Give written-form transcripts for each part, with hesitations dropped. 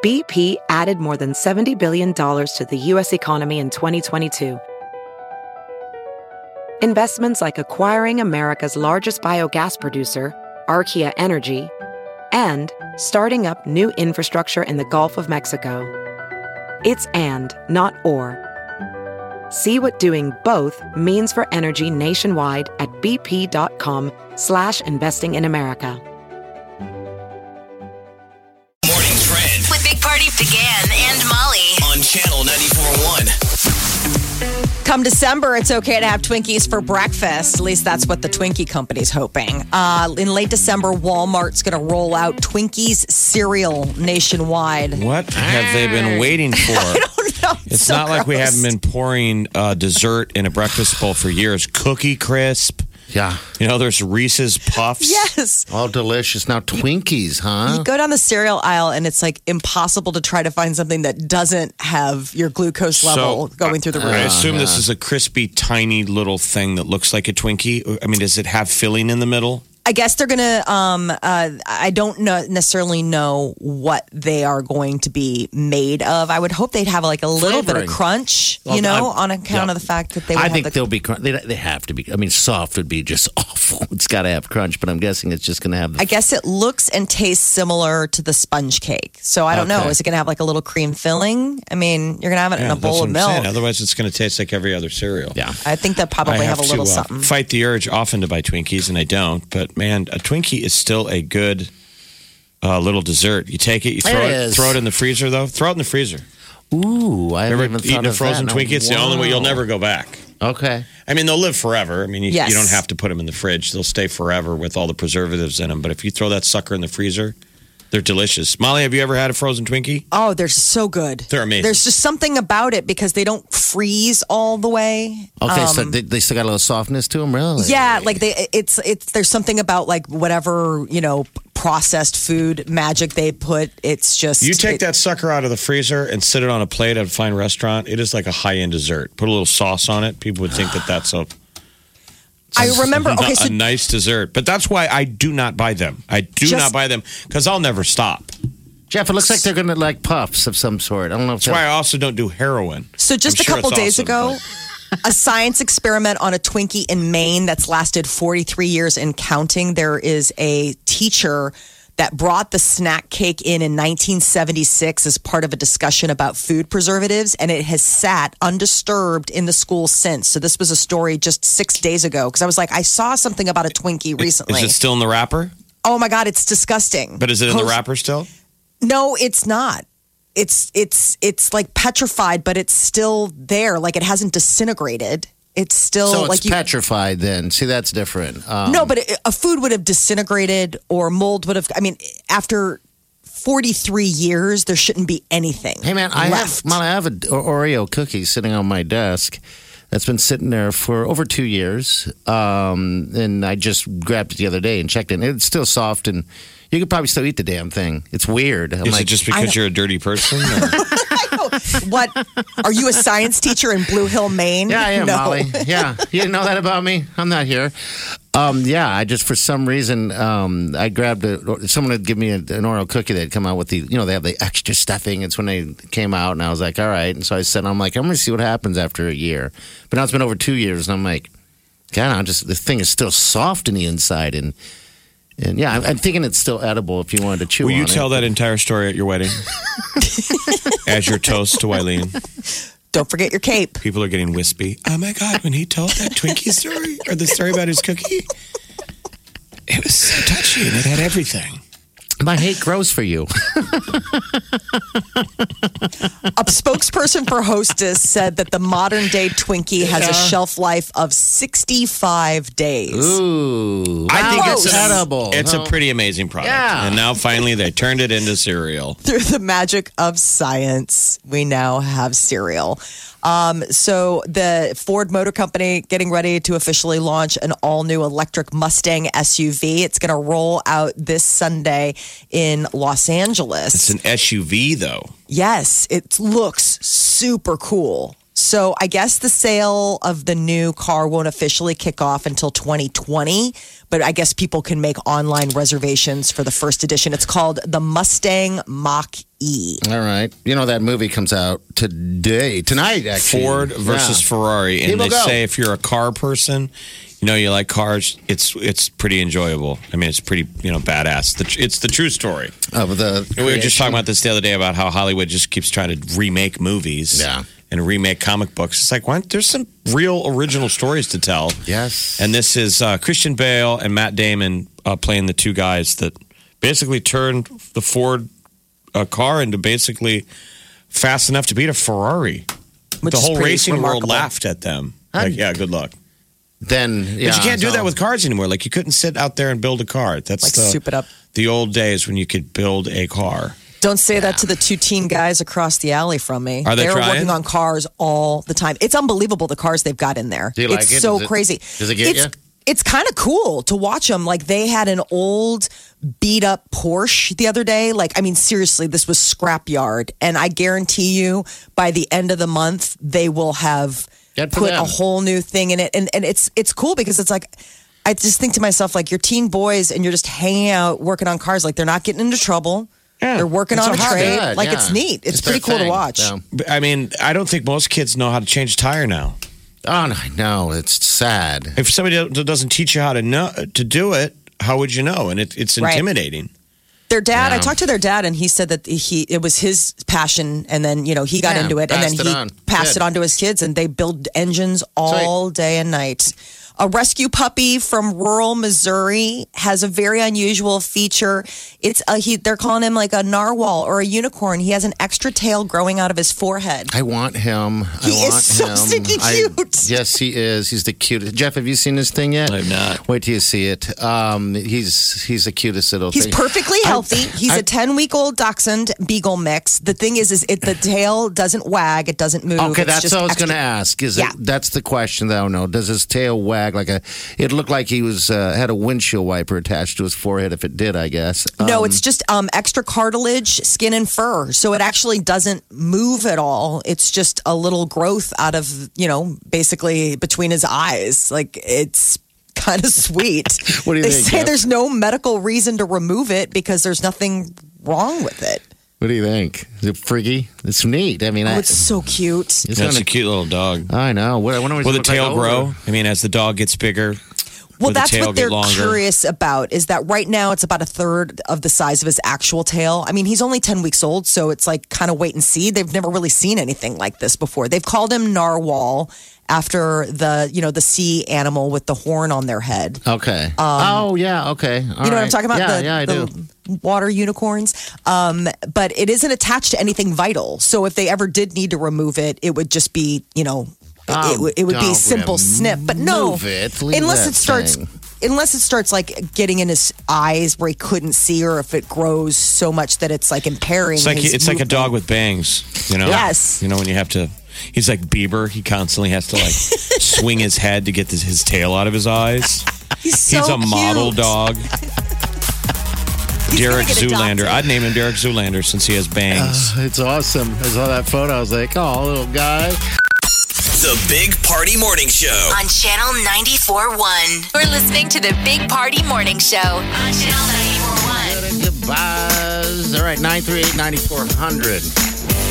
BP added more than $70 billion to the U.S. economy in 2022. Investments like acquiring America's largest biogas producer, Archaea Energy, and starting up new infrastructure in the Gulf of Mexico. It's and, not or. See what doing both means for energy nationwide at bp.com/investing in America. Morning Trend With Big Party began and Molly. on Channel 94.1. Come December, it's okay to have Twinkies for breakfast. At least that's what the Twinkie company's hoping. In late December, Walmart's going to roll out Twinkies cereal nationwide. What have they been waiting for? I don't know. It's so not like we gross. haven't been pouring dessert in a breakfast bowl for years. Cookie Crisp. Yeah. You know, there's Reese's Puffs. Yes. All delicious. Now, Twinkies, huh? You go down the cereal aisle and it's like impossible to try to find something that doesn't have your glucose level going through the roof. I assume this is a crispy, tiny little thing that looks like a Twinkie. I mean, does it have filling in the middle? I guess they're going to, I don't necessarily know what they are going to be made of. I would hope they'd have like a little bit of Flavoring. crunch, Well, on account of the fact that they would I have think the they'll be. They have to be. I mean, soft would be just awful. It's got to have crunch, but I'm guessing it's just going to have. The I guess it looks and tastes similar to the sponge cake. So I don't know. Okay. Is it going to have like a little cream filling? I mean, you're going to have it in a bowl of that's what I'm saying. milk. Otherwise, it's going to taste like every other cereal. Yeah. I think they'll probably I have a little to something. fight the urge often to buy Twinkies, and I don't. But man, a Twinkie is still a good little dessert. You take it, you throw It it, is. throw it in the freezer, though. Throw it in the freezer. Ooh, I Ever haven't even eaten thought a of frozen that. Twinkie? It's the only way you'll Wow. never go back. Okay. I mean, they'll live forever. I mean, you Yes. don't have to put them in the fridge. They'll stay forever with all the preservatives in them. But if you throw that sucker in the freezer, they're delicious. Molly, have you ever had a frozen Twinkie? Oh, they're so good. They're amazing. There's just something about it because they don't freeze all the way. Okay, so they still got a little softness to them, really? Yeah, like it's there's something about like whatever, processed food magic they put. It's just You take that sucker out of the freezer and sit it on a plate at a fine restaurant. It is like a high-end dessert. Put a little sauce on it. People would think that that's I remember. Okay, so a nice dessert. But that's why I do not buy them. I do Just- not buy them because I'll never stop. Jeff, it looks like they're going to like puffs of some sort. I don't know if That's why I also don't do heroin. So just I'm a sure couple it's days awesome, ago, a science experiment on a Twinkie in Maine that's lasted 43 years and counting. There is a teacher that brought the snack cake in 1976 as part of a discussion about food preservatives, and it has sat undisturbed in the school since. So this was a story just 6 days ago because I was like, I saw something about a Twinkie recently. Is it still in the wrapper? Oh my God, it's disgusting. But is it in the wrapper still? No, it's not. It's like petrified, but it's still there. Like it hasn't disintegrated. It's still So it's like petrified then. See, that's different. No, but a food would have disintegrated or mold would have. I mean, after 43 years, there shouldn't be anything. Hey, man, I left. have an Oreo cookie sitting on my desk that's been sitting there for over 2 years. And I just grabbed it the other day and checked it. And it's still soft, and you could probably still eat the damn thing. It's weird. I'm Is like, it just because you're a dirty person? Or? What? Are you a science teacher in Blue Hill, Maine? yeah, I am, no. Molly. Yeah. You didn't know that about me? I'm not here. Yeah, I just, for some reason, I grabbed someone had given me an Oreo cookie that had come out with they have the extra stuffing. It's when they came out, and I was like, all right. And so I said, I'm going to see what happens after a year. But now it's been over 2 years, and I'm like, God, the thing is still soft in the inside. And yeah, I'm thinking it's still edible if you wanted to chew Will on you it. tell that entire story at your wedding? As your toast to Wileen. Don't forget your cape. People are getting wispy. Oh my God, when he told that Twinkie story or the story about his cookie, it was so touchy and it had everything. My hate grows for you. A spokesperson for Hostess said that the modern day Twinkie has a shelf life of 65 days. Ooh. I think it's edible. It's a pretty amazing product. Yeah. And now finally they turned it into cereal. Through the magic of science, we now have cereal. So the Ford Motor Company getting ready to officially launch an all-new electric Mustang SUV. It's going to roll out this Sunday in Los Angeles. It's an SUV though. Yes, it looks super cool. So I guess the sale of the new car won't officially kick off until 2020, but I guess people can make online reservations for the first edition. It's called the Mustang Mach-E. All right. You know, that movie comes out tonight, actually. Ford versus Ferrari. And People they say if you're a car person, you know, you like cars, it's pretty enjoyable. I mean, it's pretty, badass. It's the true story. Of the We were just talking about this the other day about how Hollywood just keeps trying to remake movies. Yeah. And remake comic books. It's like, why? There's some real original stories to tell. Yes. And this is Christian Bale and Matt Damon playing the two guys that basically turned the Ford car into basically fast enough to beat a Ferrari. Which The is whole pretty racing world remarkable. laughed at them. Like, yeah, good luck. Then, yeah. But you can't do so- that with cars anymore. Like, you couldn't sit out there and build a car. That's Like, soup it up. the old days when you could build a car. Don't say that to the two teen guys across the alley from me. Are they They're trying? working on cars all the time. It's unbelievable the cars they've got in there. Do you like it's it? so Does it- crazy. does it get it's, you? It's kind of cool to watch them. Like they had an old beat up Porsche the other day. Like, I mean, seriously, this was scrapyard. And I guarantee you by the end of the month, they will have Good for put them. a whole new thing in it. And it's cool because it's like, I just think to myself, like, you're teen boys and you're just hanging out working on cars. Like, they're not getting into trouble. Yeah. They're working It's on a a hobby. trade. Good, Like, yeah. it's neat. It's their pretty cool to thing, watch. so. But, I mean, I don't think most kids know how to change a tire now. Oh, no, it's sad. If somebody doesn't teach you how to do it, how would you know? And it's Right. intimidating. Their dad, I Yeah. talked to their dad, and he said that it was his passion, and then he got Yeah, into it, and then passed it he on. passed Good. it on to his kids, and they build engines all day and night. A rescue puppy from rural Missouri has a very unusual feature. It's they're calling him like a narwhal or a unicorn. He has an extra tail growing out of his forehead. I want him. He I is want so him. stinking cute. Yes, he is. He's the cutest. Jeff, have you seen this thing yet? I've not. Wait till you see it. He's the cutest little He's thing. perfectly healthy. He's a 10-week-old dachshund beagle mix. The thing is the tail doesn't wag. It doesn't move. Okay, It's that's just what I was extra- going to ask. Yeah. That's the question that I don't know. Does his tail wag like a? It looked like he was had a windshield wiper attached to his forehead. If it did, I guess. No, it's just extra cartilage, skin, and fur. So it actually doesn't move at all. It's just a little growth out of, basically between his eyes. Like it's kind of sweet. What do you they think, say Jeff? there's no medical reason to remove it because there's nothing wrong with it. What do you think? Is it freaky? It's neat. I mean, Oh, it's so cute. it's That's gonna- a cute little dog. I know. What, I wonder what Will he's the gonna tail look like grow? older. I mean, as the dog gets bigger, Well, will the that's tail what get they're longer? curious about is that right now it's about a third of the size of his actual tail. I mean, he's only 10 weeks old, so it's like kind of wait and see. They've never really seen anything like this before. They've called him narwhal after the sea animal with the horn on their head. Okay. Oh yeah. Okay. You know what I'm talking about? Yeah, I do. The water unicorns. But it isn't attached to anything vital. So if they ever did need to remove it, it would just be, it would be a don't simple snip. But no, remove it. Leave unless that it starts. thing. Unless it starts like getting in his eyes where he couldn't see, or if it grows so much that it's like impairing. It's like his it's like a movement. dog with bangs. Yes. When you have to. He's like Bieber. He constantly has to like swing his head to get his tail out of his eyes. He's so He's a model cute. dog. He's gonna Derek get Zoolander. adopted. I'd name him Derek Zoolander since he has bangs. It's awesome. I saw that photo. I was like, oh, little guy. The Big Party Morning Show. On Channel 94.1. We're listening to the Big Party Morning Show on Channel 94.1. Goodbyes. All right, 938-9400.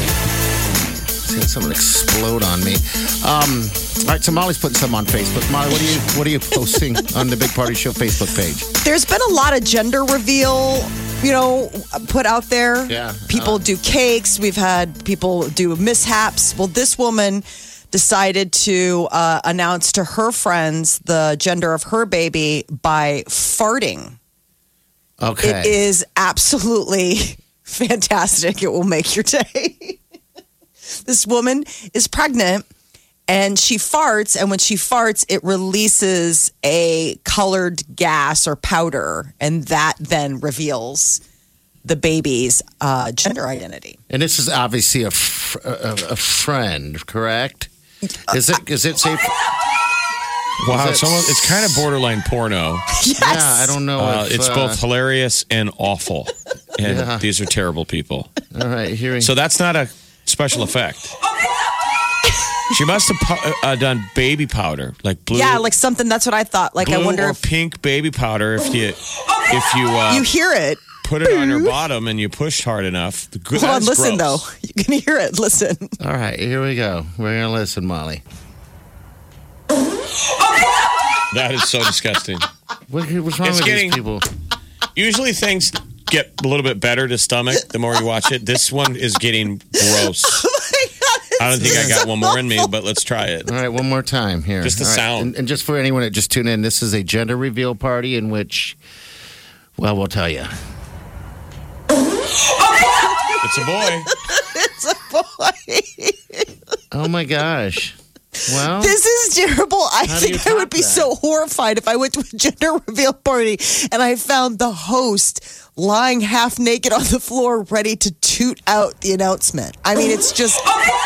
Seeing someone explode on me. All right, so Molly's putting some on Facebook. Molly, what are you posting on the Big Party Show Facebook page? There's been a lot of gender reveal, put out there. Yeah. People do cakes. We've had people do mishaps. Well, this woman decided to announce to her friends the gender of her baby by farting. Okay. It is absolutely fantastic. It will make your day. This woman is pregnant and she farts. And when she farts, it releases a colored gas or powder. And that then reveals the baby's gender identity. And this is obviously a friend, correct? Is it safe? Wow, Is it- it's kind of borderline porno. Yes. Yeah, I don't know. If, It's both hilarious and awful. And Yeah. these are terrible people. All right, hearing. So that's not a special effect. She must have done baby powder, like blue. Yeah, like something. That's what I thought. Like, blue I wonder or if pink baby powder. If you you hear it. put it on your bottom and you pushed hard enough. Hold on, listen though. You can hear it. Listen. All right, here we go. We're gonna listen, Molly. That is so disgusting. What's wrong with these people? Usually things get a little bit better to stomach the more you watch it. This one is getting gross. I don't think I got one more in me, but let's try it. All right, one more time here. Just the All right, sound. and just for anyone that just tuned in, this is a gender reveal party in which, well, we'll tell you. It's a boy. It's a boy. Oh my gosh. Well, This is terrible. I How do you think I would top be that? so horrified if I went to a gender reveal party and I found the host lying half naked on the floor ready to toot out the announcement. I mean, it's just.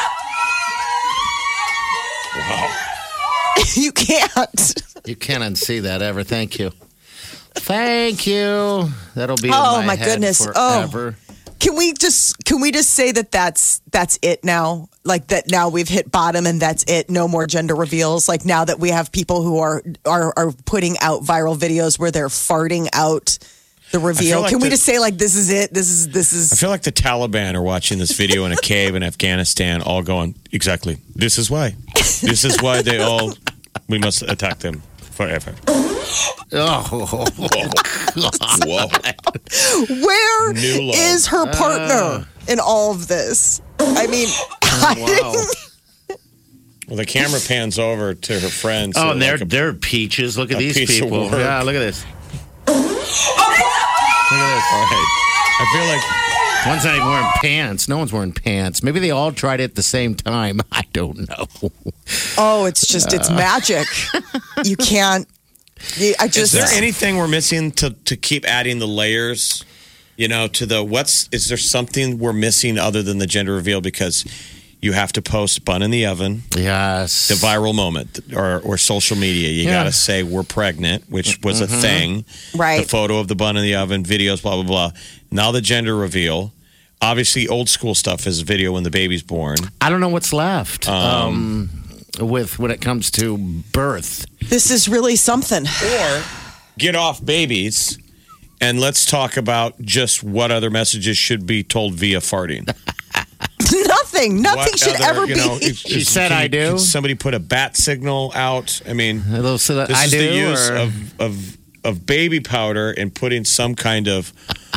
Wow. You can't. you can't unsee that ever. Thank you. Thank you. That'll be in Oh, my my head goodness. forever. Can we just say that that's it now? Like that now we've hit bottom and that's it. No more gender reveals. Like now that we have people who are putting out viral videos where they're farting out the reveal. like Can we the- just say like this is it? This I is feel like the Taliban are watching this video in a cave in Afghanistan, all going, exactly. This is why. This is why we must attack them forever. Oh, Whoa. where New low. is her partner in all of this? I mean, wow. Well, the camera pans over to her friend. Oh, so and like they're peaches. Look at a these piece of people. work. Yeah, look at this. Look at this. All right. I feel like One's not even wearing pants. No one's wearing pants. Maybe they all tried it at the same time. I don't know. oh, it's just it's magic. You can't. I is just. there anything we're missing to keep adding the layers? You know, to the is there something we're missing other than the gender reveal? Because you have to post bun in the oven, Yes. the viral moment, or social media. You got to say we're pregnant, which was a thing. Right. The photo of the bun in the oven, videos, blah, blah, blah. Now the gender reveal. Obviously, old school stuff is video when the baby's born. I don't know what's left with when it comes to birth. This is really something. Or get off babies and let's talk about just what other messages should be told via farting. Nothing What should other, ever you be. know, She said, "I do." Can somebody put a bat signal out? I mean, So that this I is do. the use or- of baby powder and putting some kind of,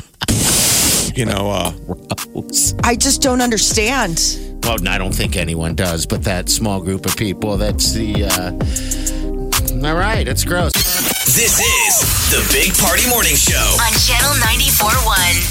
I just don't understand. Well, I don't think anyone does, but that small group of people. That's the. All right, it's gross. This is the Big Party Morning Show. On Channel 94.1.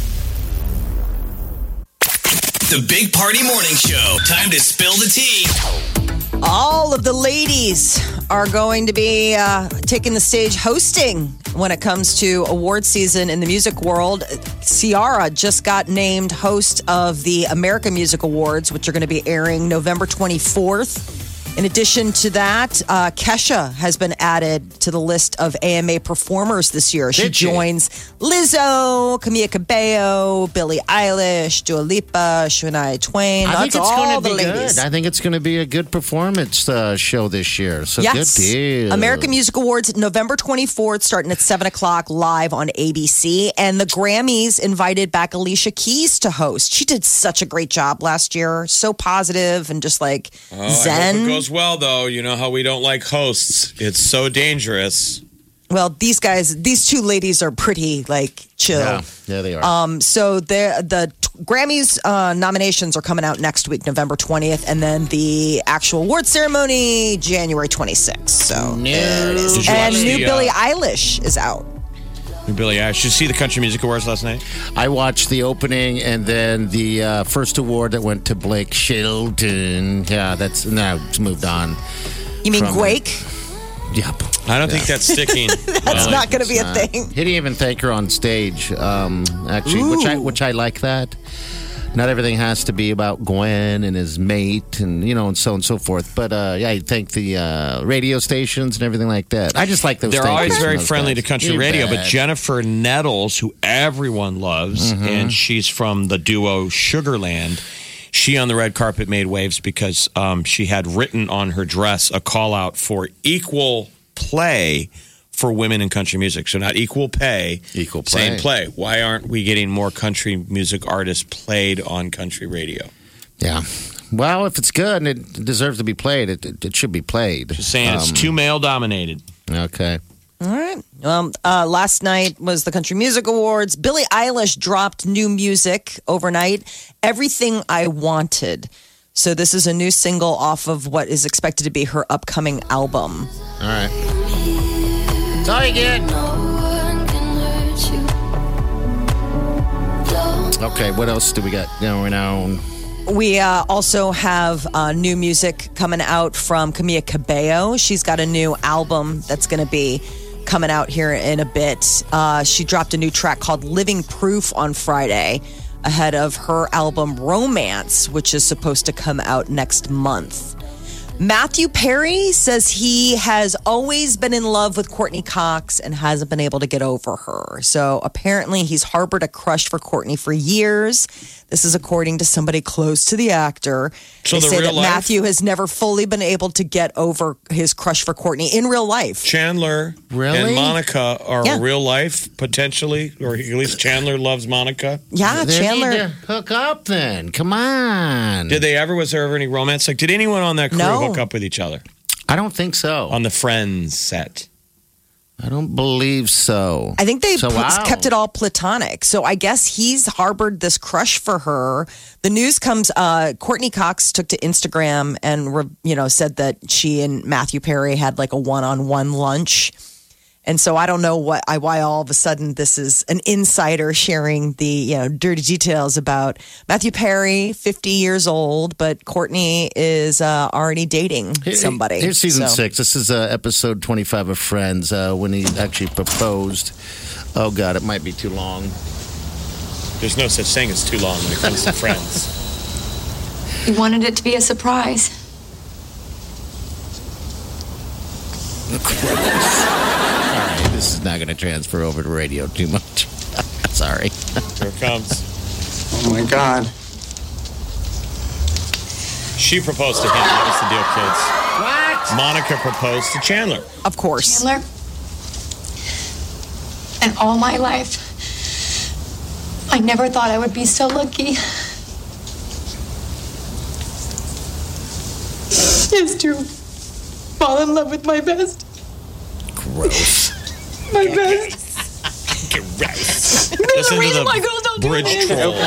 The Big Party Morning Show. Time to spill the tea. All of the ladies are going to be taking the stage hosting when it comes to award season in the music world. Ciara just got named host of the American Music Awards, which are going to be airing November 24th. In addition to that, Kesha has been added to the list of AMA performers this year. She Did she? joins Lizzo, Camila Cabello, Billie Eilish, Dua Lipa, Shania Twain. I think That's it's all going the to be ladies. good. I think it's going to be a good performance show this year. So Yes. good deal. American Music Awards, November 24th, starting at 7 o'clock live on ABC. And the Grammys invited back Alicia Keys to host. She did such a great job last year. So positive and just like I hope zen. it goes well, though. You know how we don't like hosts. It's so dangerous. Well, these two ladies are pretty like chill. Yeah, they are. So the Grammys nominations are coming out next week, November 20th, and then the actual award ceremony, January 26th. So there it is. Did you And watch new the, Billie Eilish is out. Billy, did you see the Country Music Awards last night? I watched the opening and then the first award that went to Blake Shelton. Yeah, that's now it's moved on. You mean From- Quake? Yep. I don't think that's sticking. That's not going to be a thing. He didn't even thank her on stage, actually, which I like that. Not everything has to be about Gwen and his mate and, and so on and so forth. But, yeah, I thank the radio stations and everything like that. I just like those They're thank always yous from very those friendly guys. to country You radio, but bet. Jennifer Nettles, who everyone loves, and she's from the duo Sugarland, she on the red carpet made waves because she had written on her dress a call out for equal play for women in country music. So not equal pay, Equal play. same play. Why aren't we getting more country music artists played on country radio? Yeah. Well, if it's good and it deserves to be played, it should be played. Just saying it's too male dominated. Okay. All right. Last night was the Country Music Awards. Billie Eilish dropped new music overnight, Everything I Wanted. So this is a new single off of what is expected to be her upcoming album. All right. That's all you get. Okay, what else do we got going on? We also have new music coming out from Camila Cabello. She's got a new album that's going to be coming out here in a bit. She dropped a new track called Living Proof on Friday ahead of her album Romance, which is supposed to come out next month. Matthew Perry says he has always been in love with Courtney Cox and hasn't been able to get over her. So apparently he's harbored a crush for Courtney for years. This is according to somebody close to the actor. So they the say real that life? Matthew has never fully been able to get over his crush for Courtney in real life. Chandler Really? and Monica are Yeah. real life, potentially, or at least Chandler loves Monica. Yeah, They Chandler. need to hook up then. Come on. Was there ever any romance? Like, did anyone on that crew No. hook up with each other I don't think so. on the Friends set? I don't believe so. I think they So, wow. kept it all platonic. So I guess he's harbored this crush for her. The news comes, Courtney Cox took to Instagram and, said that she and Matthew Perry had like a one-on-one lunch. And so I don't know why all of a sudden this is an insider sharing the dirty details about Matthew Perry, 50 years old, but Courtney is already dating somebody. Here's season So- 6. This is episode 25 of Friends when he actually proposed. Oh, God, it might be too long. There's no such thing as too long when it comes to Friends. We wanted it to be a surprise. All right, this is not going to transfer over to radio too much. Sorry. Here it comes. Oh my God. She proposed to him. That was the deal, kids. What? Monica proposed to Chandler. Of course. Chandler, and all my life, I never thought I would be so lucky as to fall in love with my best. Gross. My best. Gross. No, Listen really, to my girl, don't the do bridge it. troll.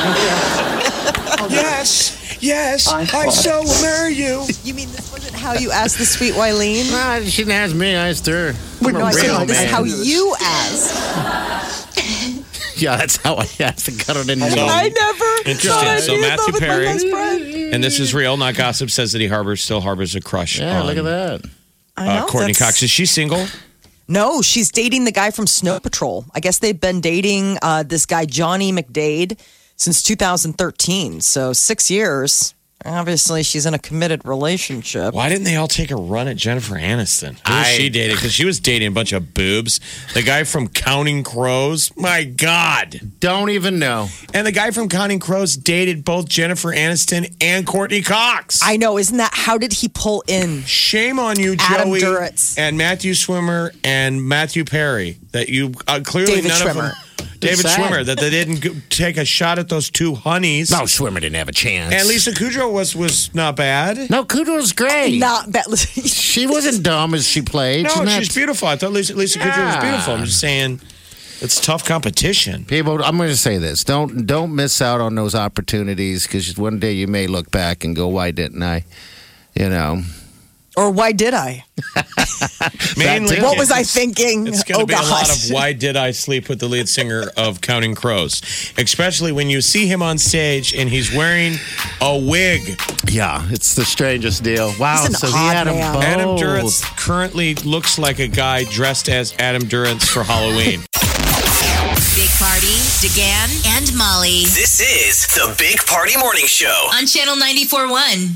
Yes, I so will marry you. You mean this wasn't how you asked the sweet Wileen? Nah, she didn't ask me. I asked her. No, I real said this is man. how you asked. Yeah, that's how I asked to cut it in. So- I never. Interesting. thought I'd So be in Matthew love with my Perry- best friend. And this is real, not gossip, says that he still harbors a crush Yeah, on look at that. I know, Courtney that's- Cox. Is she single? No, she's dating the guy from Snow Patrol. I guess they've been dating this guy, Johnny McDade, since 2013. So 6 years. Obviously, she's in a committed relationship. Why didn't they all take a run at Jennifer Aniston? Who was she dating? Because she was dating a bunch of boobs. The guy from Counting Crows. My God. Don't even know. And the guy from Counting Crows dated both Jennifer Aniston and Courtney Cox. I know, isn't that? How did he pull in? Shame on you, Adam Joey. Duritz. And Matthew Swimmer and Matthew Perry. That you clearly David none Schwimmer. of them. David sad. Schwimmer. That they didn't take a shot at those two honeys. No, Swimmer didn't have a chance. And Lisa Kudrow was not bad. No, Kudrow's great. Not that. She wasn't dumb as she played. No, She's not- she's beautiful. I thought Lisa Kudrow was Yeah. beautiful. I'm just saying, it's tough competition. People, I'm going to say this: don't miss out on those opportunities because one day you may look back and go, "Why didn't I?" You know. Or why did I? Mainly, too. What was I thinking? It's going to be a lot gosh. of why did I sleep with the lead singer of Counting Crows, especially when you see him on stage and he's wearing a wig. Yeah, it's the strangest deal. Wow, He's an so he odd had them man. both. Adam Duritz currently looks like a guy dressed as Adam Duritz for Halloween. Big Party, DeGan, and Molly This is the Big Party Morning Show. on Channel 94.1.